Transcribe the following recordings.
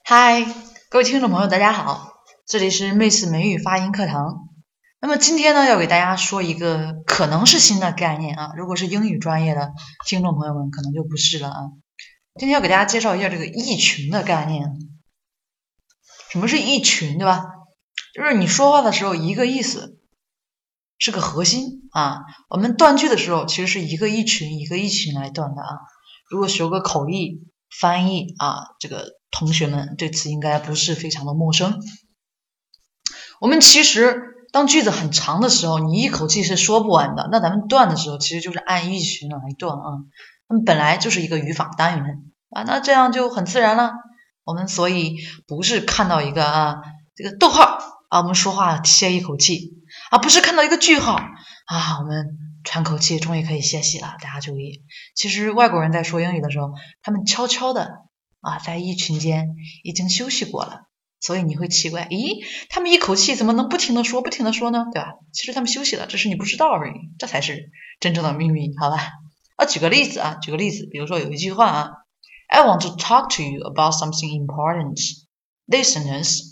嗨，各位听众朋友，大家好，这里是妹子美语发音课堂。那么今天呢，要给大家说一个可能是新的概念啊，如果是英语专业的听众朋友们，可能就不是了啊。今天要给大家介绍一下这个异群的概念。什么是异群，对吧？就是你说话的时候一个意思，是个核心啊。我们断句的时候，其实是一个异群一个异群来断的啊。如果学过口译、翻译啊，这个同学们对此应该不是非常的陌生。我们其实当句子很长的时候，你一口气是说不完的，那咱们断的时候其实就是按异群来断啊。那么本来就是一个语法单元啊，那这样就很自然了。我们所以不是看到一个这个逗号啊，我们说话歇一口气啊，不是看到一个句号啊，我们喘口气，终于可以歇息了。大家注意，其实外国人在说英语的时候，他们悄悄的啊，在一群间已经休息过了，所以你会奇怪，咦，他们一口气怎么能不停的说呢？对吧？其实他们休息了，只是你不知道而已，这才是真正的秘密，好吧？举个例子，比如说有一句话啊 ，I want to talk to you about something important. Listeners,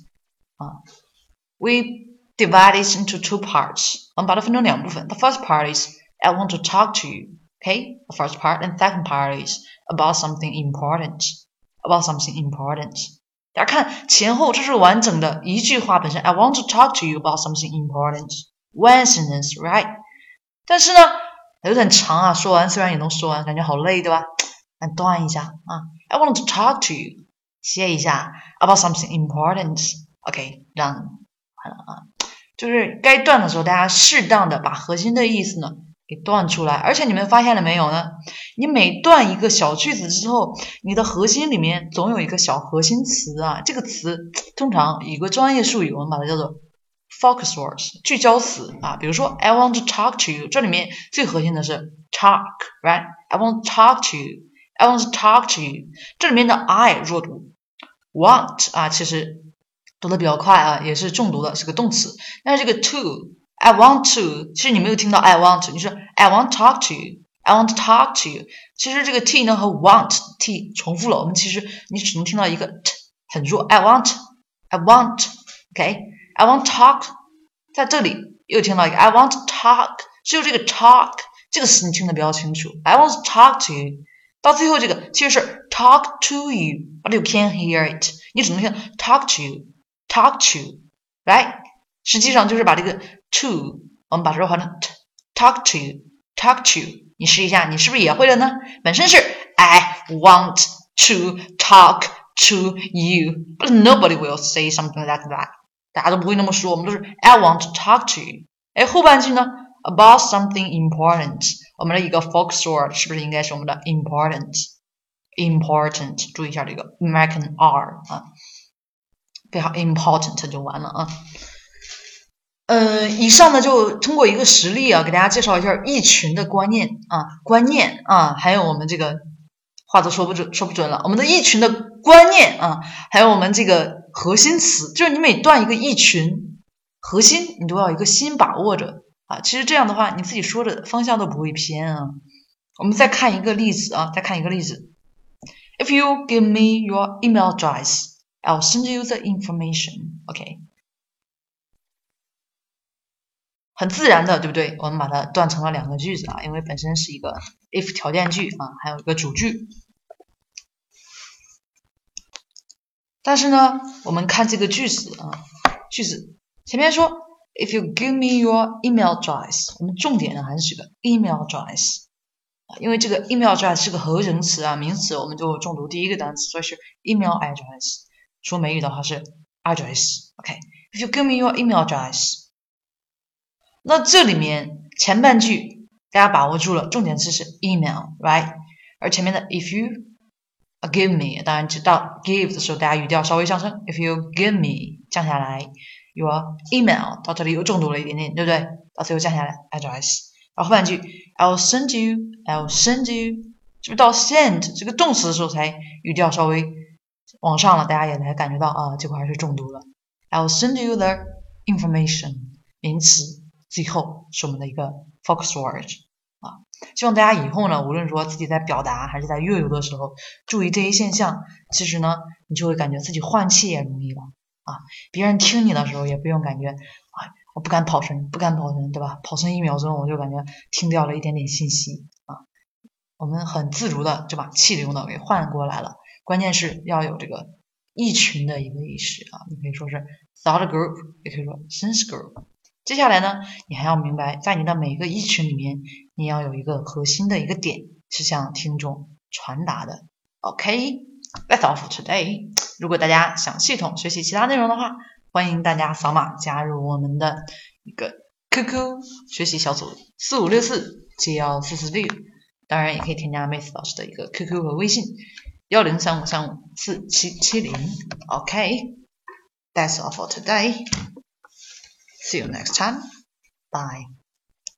we divide it into two parts. 我们把它分成两部分。The first part is I want to talk to you. Okay, the first part, and second part is about something important. About something important. 大家看前后，这是完整的一句话本身。I want to talk to you about something important. One sentence, right? 但是呢，有点长啊，说完虽然也能说完，感觉好累，对吧？那断一下啊。I want to talk to you. 歇一下 about something important. OK, done. 完了啊。就是该断的时候，大家适当的把核心的意思呢给断出来。而且你们发现了没有呢？你每断一个小句子之后，你的核心里面总有一个小核心词啊。这个词通常有个专业术语，我们把它叫做 focus words 聚焦词啊。比如说 I want to talk to you， 这里面最核心的是 talk, right? I want to talk to you. I want to talk to you。 这里面的 I 弱读 want 啊，其实读得比较快啊，也是重读的，是个动词。但是这个 to I want to， 其实你没有听到 I want to， 你说 I want to talk to you， I want to talk to you。 其实这个 t 呢和 want t 重复了，我们其实你只能听到一个 t 很弱。 I want OK， I want to talk， 在这里又听到一个 I want to talk， 只有这个 talk 这个词你听得比较清楚。 I want to talk to you， 到最后这个其实是 talk to you， but you can't hear it， 你只能听 talk to you talk to right， 实际上就是把这个 to 我们把它换成 talk to you。 你试一下，你是不是也会了呢？本身是 I want to talk to you， but nobody will say something like that， 大家都不会那么说，我们都是 I want to talk to you。 后半句呢 about something important， 我们的一个 focus word 是不是应该是我们的 important， 注意一下这个 American R 啊，非常 important 就完了啊。以上呢就通过一个实例啊，给大家介绍一下异群的观念啊，还有我们这个话都说不准了，我们的异群的观念啊，还有我们这个核心词，就是你每断一个异群核心，你都要有一个心把握着啊。其实这样的话，你自己说的方向都不会偏啊。我们再看一个例子啊，If you give me your email address, I'll send you the information. OK， 很自然的，对不对？我们把它断成了两个句子啊，因为本身是一个 if 条件句啊，还有一个主句。但是呢，我们看这个句子前面说 If you give me your email address， 我们重点呢还是这个 email address。因为这个 email address 是个合成词啊，名词我们就重读第一个单词，所以是 email address。说美语的话是 address。OK，If you give me your email address， 那这里面前半句大家把握住了，重点词是 email，right？ 而前面的 if you give me， 当然知道 give 的时候大家语调稍微上升 ，if you give me 降下来 your email， 到这里又重读了一点点，对不对？到最后降下来 address。然后后半句 I'll send you， 是不是到 send 这个动词的时候才语调稍微往上了，大家也才感觉到啊，这块还是重读了。I'll send you the information， 名词最后是我们的一个 focus word 啊。希望大家以后呢，无论说自己在表达还是在阅读的时候，注意这些现象。其实呢， 你就会感觉自己换气也容易了啊。别人听你的时候也不用感觉我不敢跑神，对吧？跑神1秒钟我就感觉听掉了一点点信息啊。我们很自如的就把气流呢给换过来了。关键是要有这个一群的一个意识啊，你可以说是 thought group， 也可以说 sense group。接下来呢，你还要明白，在你的每个一群里面，你要有一个核心的一个点是向听众传达的。OK，that's all for today。如果大家想系统学习其他内容的话，欢迎大家扫码加入我们的一个 QQ 学习小组4564714446，当然也可以添加 Mace 老师的一个 QQ 和微信1035354770。OK，that's all for today。See you next time. Bye.